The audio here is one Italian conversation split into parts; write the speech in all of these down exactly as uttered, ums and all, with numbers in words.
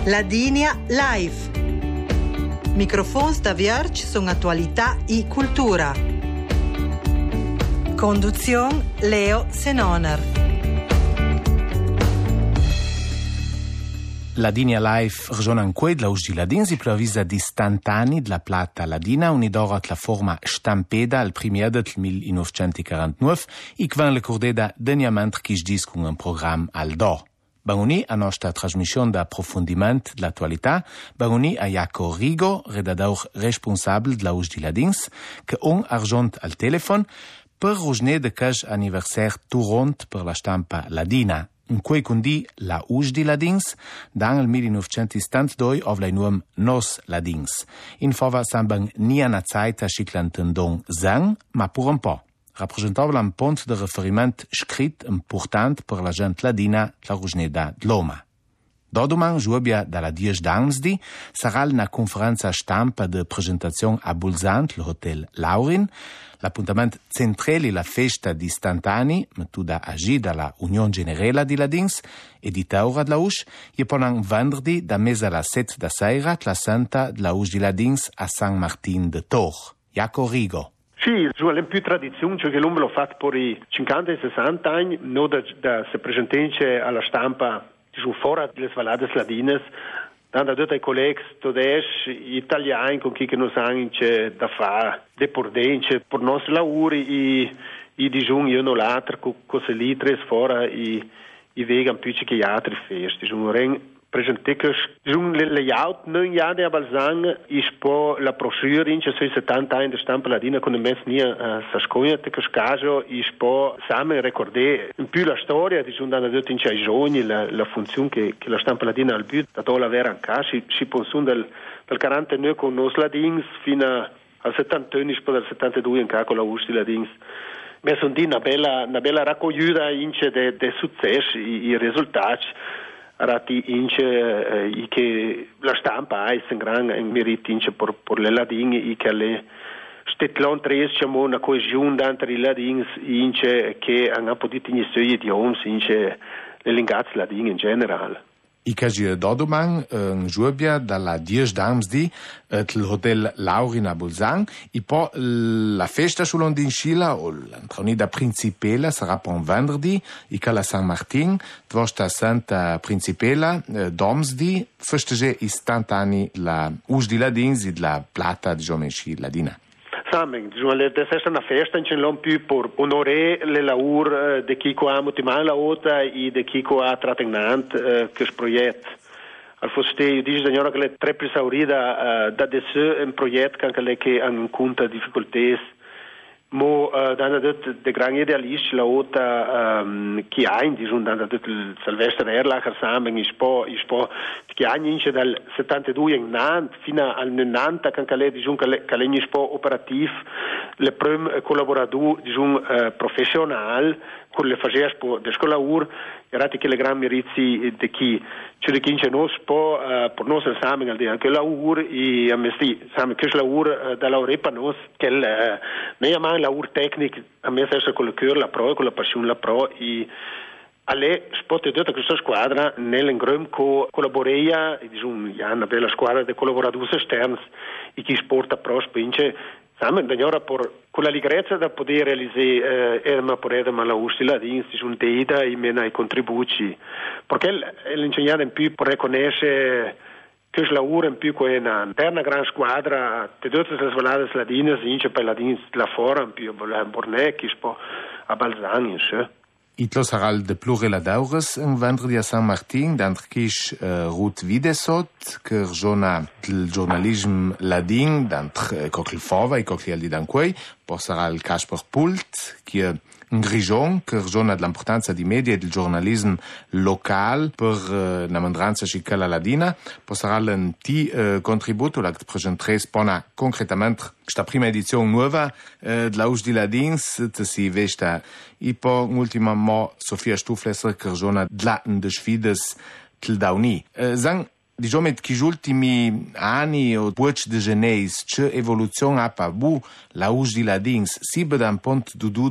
Ladinia Live. Microfons da Vierge sono attualità e cultura. Conduzione Leo Senoner. Ladinia Live regionan quei la usgi ladins i plavisa di stantani della plata ladina unidora la forma stampeda al primier del millenovecentoquarantanove e quan le cordeda deniament chi sdis con un programma al do. Banguni a nostra trasmissione d'approfondiment dell'attualità, banguni a Jaco Rigo, redador responsabile della usgi ladins, che on argent al telefon per rosne de cash anniversaire turont per la stampa ladina. In cui condi la usgi ladins, dan il millenovecentosettantadue ov lai nuam nos ladins. In fava sambang nia na zaita schiclantendong zang, ma pur un po'. Rappresentava un punto de riferiment scrit important per la gent ladina, la rusneda d'Loma. Dodoman, giubia dalla dies d'Ansdi, sarà una conferenza stampa de presentazione a Bulzant, l'hotel Laurin, l'appuntamento centrale la festa di Stantani, mettuda agi dalla Unione Generale di Ladins, e di Taura della U S, e poi venerdì da mesa alla sette da sera, la Santa della U S di Ladins a San Martin de Tor. Jaco Rigo. Sì, è più tradizione, cioè che l'uomo l'ha fatto per i cinquanta e sessanta anni, non da, da se presentare alla stampa su fuori delle valade ladines, da tutti i colleghi tedeschi, italiani, con chi che non sanno da fare, de pordenze, per i nostri lavori, e i digiuni io non l'altro, con queste litre fuori, e i vegan più che gli altri festi. Presentekers, zo'n layout, nu ja de balzang is po la brochure in sui settanta anni de stampa ladina con de mens nia uh, sasconia te caso is po samen recordé un più la storia di zo'n da in i giorni la, la funzione che, che la stampa ladina al but da la vera anche si si pensun del del quarantanove con nos ladins fino al settant'uno po dal settantadue in con la U S ladins. Ma son di una bella una bella raccogliuta in de de successi i, i risultati Rati ince eh, che la stampa ha un gran merito ince per, per le ladini e che le stetlon tresciamo una coesione entre i ladins ince che hanno potuto iniziare gli idiomi ince le linguaggi ladini in generale. I casi dodoman in giubia dalla dies d'Amsdi il hotel Laurin a Bolzan e poi la festa sull'Ondinscila o l'antronida principela sarà per un venerdì e che la San Martin vostra Santa Principela d'Omsdi festeggia istantanei la us di ladins e la plata di giomensci ladina. Samen, è stata una festa in c'è più per onorare le lavori di chi ha motivato la ota e di chi ha trattenuto questo progetto. Al foste, io dico signora che le tre esaurita da adesso un progetto che che hanno incontra difficoltà. Mo uh, da de gran idealisti la ota um, chi ha in disun da il Silvestre Erlacher samen is po is po chi ha ince dal settantadue in Nant fino al novanta kan kale disun kale kale is po operativ le prim collaborador disun uh, professional con le fageas po de scola ur erati che le gran meriti de chi cioè de chi ince nos po uh, per nos samen al dia che la ur e amesti samen che la ur uh, da l'Europa nos che uh, ne ama la ur tecnic a me stessa con il cuore la pro e con la passione la pro e alle spot di tutta questa squadra nell'ingrum co collaboreia e disun ja una bella squadra di collaboratori esterni e chi sporta pro spinge samen d'ora per con la ligrezza da poter realizzare eh, ma per edema la ustila di instituzione deida e mena i contributi perché l'insegnante in più per riconoscere che la ura in più con una interna gran squadra di tutte le svalade ladine ince per ladini la fora in più la Bornec ispo a Balzani sì. Itlo sarà il de pluriladaures in venerdì a San Martin, d'antrchish uh, Ruth Videsot, che ragiona del giornalismo ladin, d'antre Cochil Fova e Cochil di Danquei, poi sarà il Casper Pult, che è in Grigion, che ragiona dell'importanza di media e del giornalismo locale per uh, la mandranza cicala ladina, poi sarà un ti uh, contributo, che presenterà spona concretamente questa prima edizione nuova uh, della U S di Ladins, che si vesta e poi ultima mo Sofia Stuflesser che ragiona della de sfides til dauni. Uh, Zang, diciamo che gli ultimi anni o puoc de geneis, c'è evoluzione a pabu la U S di Ladins, si beda un punto di duda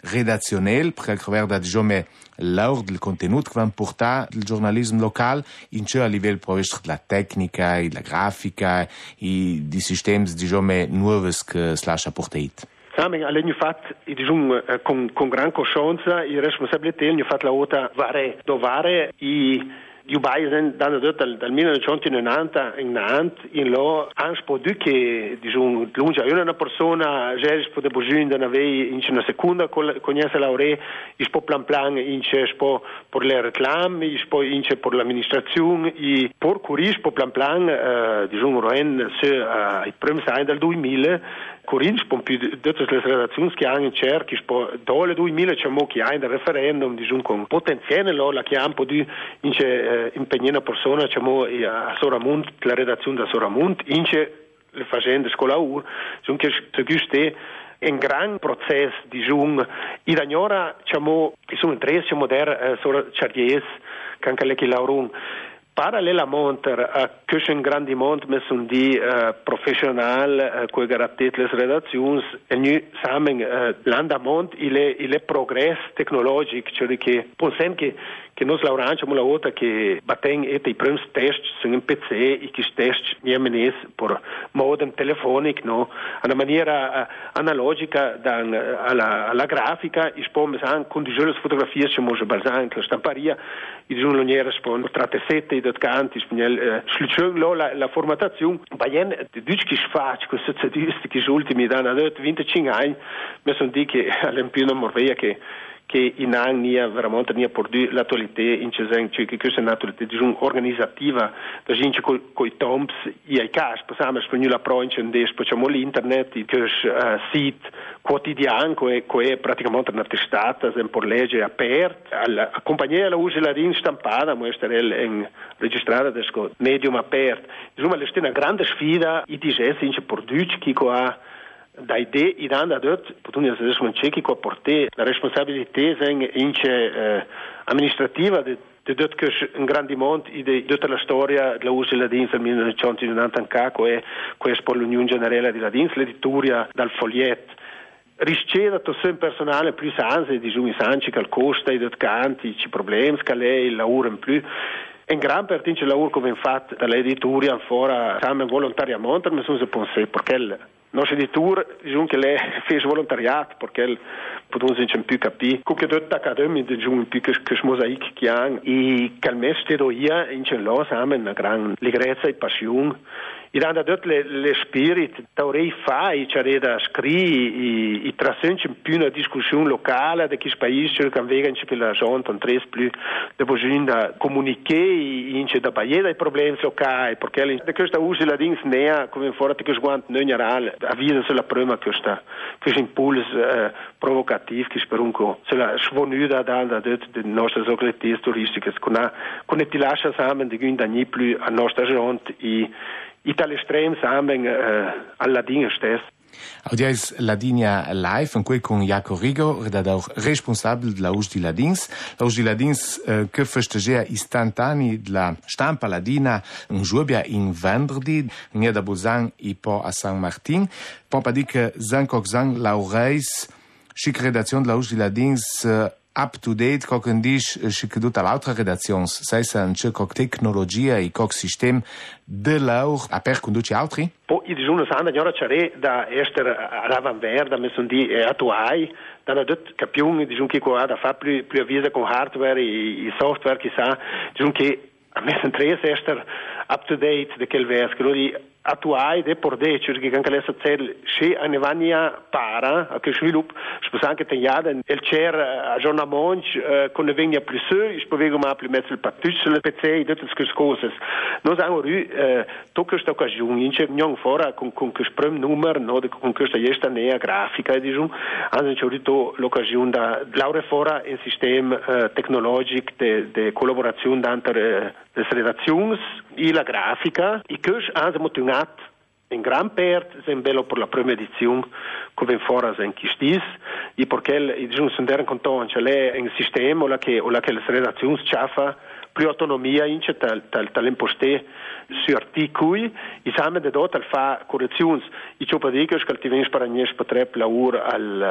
redazionale, perché riguarda diciamo l'or del contenuto che va portare il giornalismo locale in ciò a livello della tecnica e della grafica e di sistemi diciamo nuovi che si lascia portare. Samen alle fatto diciamo con con gran coscienza e responsabilità hanno fatto la volta vare dovare i Io baisen dal dal dal millenovecentonovanta in Nant in lo han spodu che diciamo lunge una persona già può debujin da avei in una seconda conosce l'aure il po plan plan in c'è po per le reclame il po in c'è per l'amministrazione e per curis po plan plan diciamo roen se i primi sai dal duemila Corins pom più tutte le redazioni che hanno in cerchi spo dole duemila c'è mo che ha in referendum diciamo con potenziale lo la chiampo di in c'è impegnare una persona c'è mo a Soramont la redazione da Soramont in c'è le facende scuola ur sono che se guste un gran processo diciamo e da ora c'è mo sono tre c'è moder sora chardies che anche le che laurun Parallelamente a questo grande mondo messo di uh, professional uh, che garantisce le redazioni e noi samen uh, l'andamento e le, le progressi tecnologici cioè che pensano che che noi lavorano la volta che battem e i primi test su un P C e che test niemens per modem telefonico no una maniera uh, analogica da uh, alla, alla grafica e poi san con di le fotografie ci mo balzan la stamparia e di un niera spon tratte sette dat canti spagnol sluchung la la formazione baien de duc che sfac con se cediste che ultimi danno venticinque anni mi sono di che all'empino morveia che che in anni veramente ne ha portato l'attualità in cesen che questa è un'attualità diciamo organizzativa da gente coi coi toms e ai cas possiamo spagnolo pro in cendes facciamo l'internet che uh, sito quotidiano che è praticamente una testata sempre legge aperta la compagnia la usa la rin stampata ma essere in registrata da medium aperto insomma è una grande sfida i disessi in produce che qua da idee i danno dort potrebbe essere un ciechi che porta la responsabilità in eh, amministrativa di dort che un grande monte di tutta la storia della U S L A Dins del millenovecentonovanta che è questo per l'Unione Generale della Dins l'editoria dal foglietto rischeda tutto il personale più sanze di Giumi Sanci che costa i dot canti ci problemi che lei lavora in più in gran parte c'è lavoro come fatto dall'editoria ancora siamo volontariamente ma sono se pensare perché il nostro editore diciamo che lei fa volontariato perché potevamo non più capire come tutte accademie diciamo più che che mosaico che hanno e che il mestiere io in c'è là siamo una gran leggerezza e passione e da tutte le, le spirit taurei fai c'è da scrivere e trascendere più una discussione locale di questo paese che vengono per la gente non tre più dopo da comunicare in c'è da paese dei problemi locali perché questa usa la dings nea come fuori che sguanto non generale avvisa sulla prima questa questo impulso eh, provocativo che spero un po' se la svonuda da da delle nostre località turistiche con con ti lascia sammen di quindi più a nostra gente e i tali estremi samen eh, alla Dinge stessa. Audiais Ladinia Live, in cui con Jaco Rigo, redador responsabile della U S di Ladins. La U S di Ladins eh, che festeggia istantanei della stampa ladina in Giubia in venerdì, nia da Bolzan e poi a San Martin. Poi dire che Zancoc Zang Laureis, chic redazione della U S di Ladins, eh, up to date co che dice che tutta l'altra redazione sai se un cerco tecnologia e co sistema de l'aur a per conduce altri poi i giorni sanno ora c'è da essere all'avanguardia messo di attuai da non capiamo diciamo che qua da fa più più avvisa con hardware e, e software che sa diciamo che a me sono tre essere up to date de quel vers che di attuai de por de cioè che anche lei sa se a nevania para a che sviluppo sposa anche tagliata il cer aggiornamento con ne vegna più su ich bewege ma più mezzo il pattuccio il P C e tutte queste cose noi siamo ru tocca questa occasione in c'è non fora con con questo primo numero no con questa gesta nea grafica diciamo hanno c'è avuto l'occasione da laure fora in sistema tecnologico de de collaborazione entre le redazioni e la grafica e che hanno motivato in gran parte è bello per la prima edizione come fora in Chistis e perché i giorni sono in conto c'è lei un sistema o la che o la che le redazioni c'ha più autonomia in c'è tal tal tal'imposte su articoli e siamo da dot al fa correzioni e ciò per dire che ti viene per ogni potrebbe lavoro al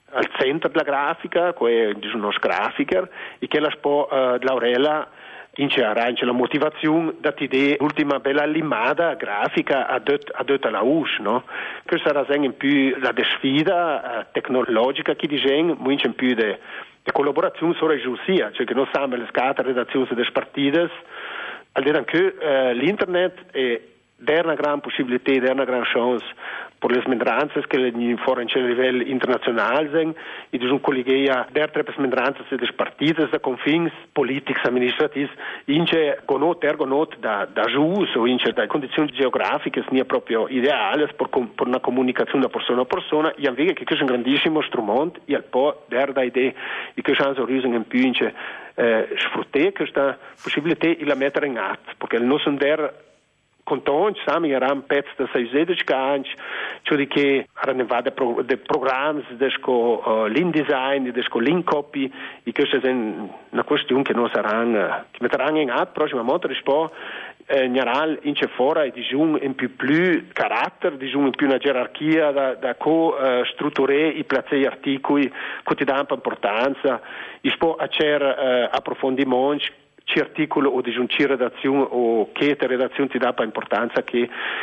al centro della grafica, che è uno grafiker, e che la spo uh, Laurella in c'è la motivazione da ti l'ultima bella limata grafica a dot a dot alla U S, no? Che sarà in più la sfida uh, tecnologica che disegna, molto in più de, de collaborazione sulla giustizia, cioè che non sanno le scate redazioni delle partite, al dire che uh, l'internet è una gran possibilità, è una gran chance per le smendranze che fuori a livello internazionale sono, e sono collegate der tre smendranze delle partite, da confins politici, amministrativi, ince gonot, ergonot da, da gius o ince da condizioni geografiche, sono proprio ideali per, per una comunicazione da persona a persona, e anche che questo è un grandissimo strumento, e al po' der da idee, e che chance riusano in più ince eh, sfruttare questa possibilità e la mettere in atto, perché non sono der contonci, sami eram pezzi da sei sedici anni, cioè che erano vade pro, de programmi, desco uh, l'InDesign, desco l'InCopy, e questa è una questione che non saranno, che metteranno in atto prossimamente, rispo eh, in generale in c'è fuori di un in più più carattere, di un in più una gerarchia da, da co uh, strutturare i placei articoli, che ti danno importanza, rispo a cer uh, approfondimenti, ci articolo o di ci redazione o che redazione ti dà per importanza che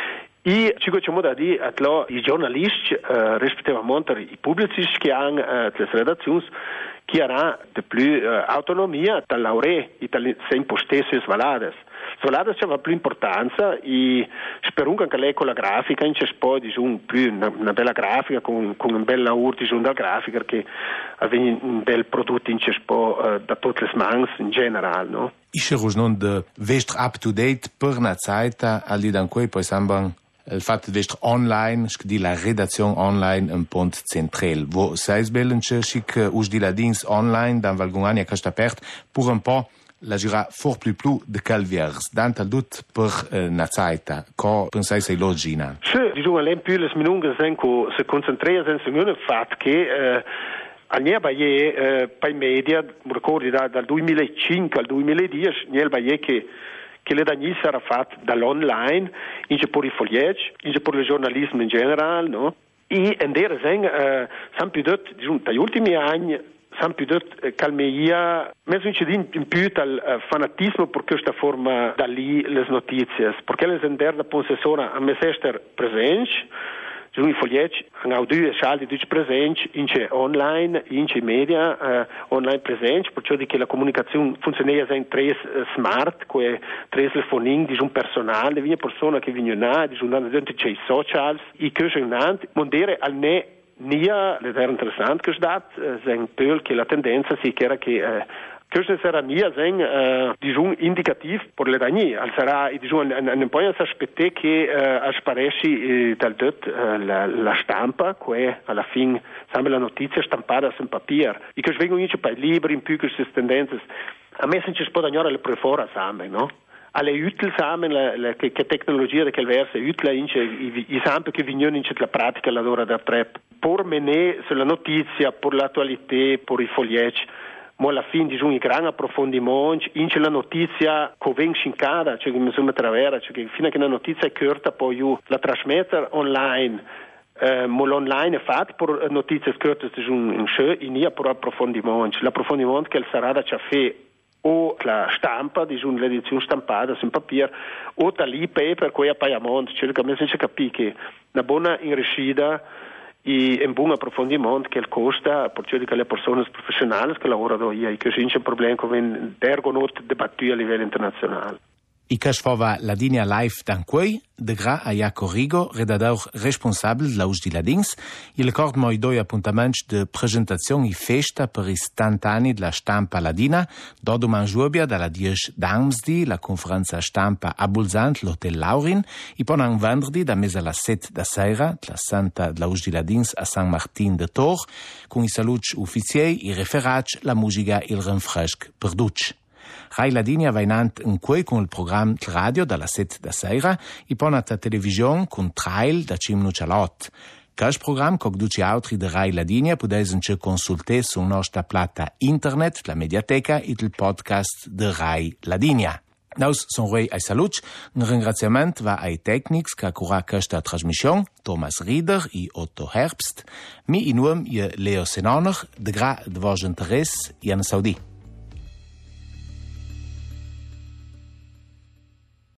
e ci facciamo da dire a i giornalisti eh, rispettivamente i pubblicisti che hanno eh, le redazioni che hanno di più eh, autonomia dall'aure e dalle sempre stesse svalate. Svalate c'è più importanza e spero che lei con la grafica in c'è poi diciamo, più una, una bella grafica con, con un bel lavoro diciamo, dal grafica che avviene un bel prodotto in c'è poi eh, da tutte le mans in generale, no? Isce non de vest up to date per una zaita al di dan quei poi sambang il fatto di essere online, di la redazione online un punto centrale. Wo sais belence chic us di la dins online dan valgungani a casta pert pour un po' la gira for plus plus de calviers dant al dut per uh, na zaita. Co pensai sei logina? Sì, diciamo l'en più le minunge senco se concentrare sen un fatto che eh, al Niel Baie eh, per i media, ricordi da, dal duemilacinque al duemiladieci, Niel Baie che che le dagni sarà fatta dall'online, in c'è per i foglieggi, in c'è per il giornalismo in generale, no? E in der sen, eh, san più detto, diciamo, dagli ultimi anni, san più detto, eh, calmeia, mezzo in, in più dal uh, fanatismo per questa forma da lì le notizie, perché le sen der da possessora a me sester presente, i foglieggi hanno due saldi due presenti in c'è online in c'è media uh, online presenti perciò di che la comunicazione funziona in tre uh, smart che tre telefonini di un personale di una persona che viene là di un dentro c'è i social e che è un mondere al ne nia le era interessante che dat sen pel che la tendenza si che era che uh, questo sarà mia sen uh, diciamo indicativ per le dagni al sarà diciamo un po' aspettare che uh, sparesci uh, dal dot uh, la, la stampa che alla fine sembra la notizia stampata su papier e che vengono in per libri in più queste tendenze a me se ci si può dagnare le prefora same no alle utili same la, la, che, che tecnologia di quel verso è utile in i, i sample che vengono in la pratica l'ora da trep per menè sulla notizia per l'attualità per i foglieggi ma alla fine di un gran approfondimento in c'è la notizia che viene scincata cioè che mi sono attraversa cioè che fino a che la notizia è corta poi io la trasmettere online eh, ma l'online è fatto per notizie corte di un show e non per approfondimento l'approfondimento che sarà da ciaffè o la stampa di un'edizione stampata su papier o da lì per cui appaiamento cioè che a me si capisce che una buona inriuscita e un buon approfondimento che costa per cioè che le persone professionali che lavorano io e che c'è un problema come dergonot dibattuto a livello internazionale. I cash fova la linea live dan quei, de gra a Jaco Rigo, redador responsabil de l'Aus di Ladins, il cord moi doi appuntaments de presentazione e festa per i stantani de la stampa ladina, doduman giubia dalla dies d'Armsdi, la conferenza stampa a Bulzant, l'Hotel Laurin, e ponan vendredi da mesa la set da sera, la Santa de l'Aus di Ladins a San Martin de Tor, con i saluts ufficiei, i referats, la musica il renfresc perduc. Rai Ladinia va inant un quei con il programma radio dalla set da sera e poi nata televisione con trail da cimno cialot. Questo programma, come tutti altri di Rai Ladinia, potete consultare sulla nostra plata internet, la mediateca e il podcast di Rai Ladinia. Naus son rei ai saluts, un ringraziament va ai tecnics che cura questa trasmission, Thomas Rieder e Otto Herbst, mi in uom e Leo Senoner, de gra de vos interesse e an Saudi.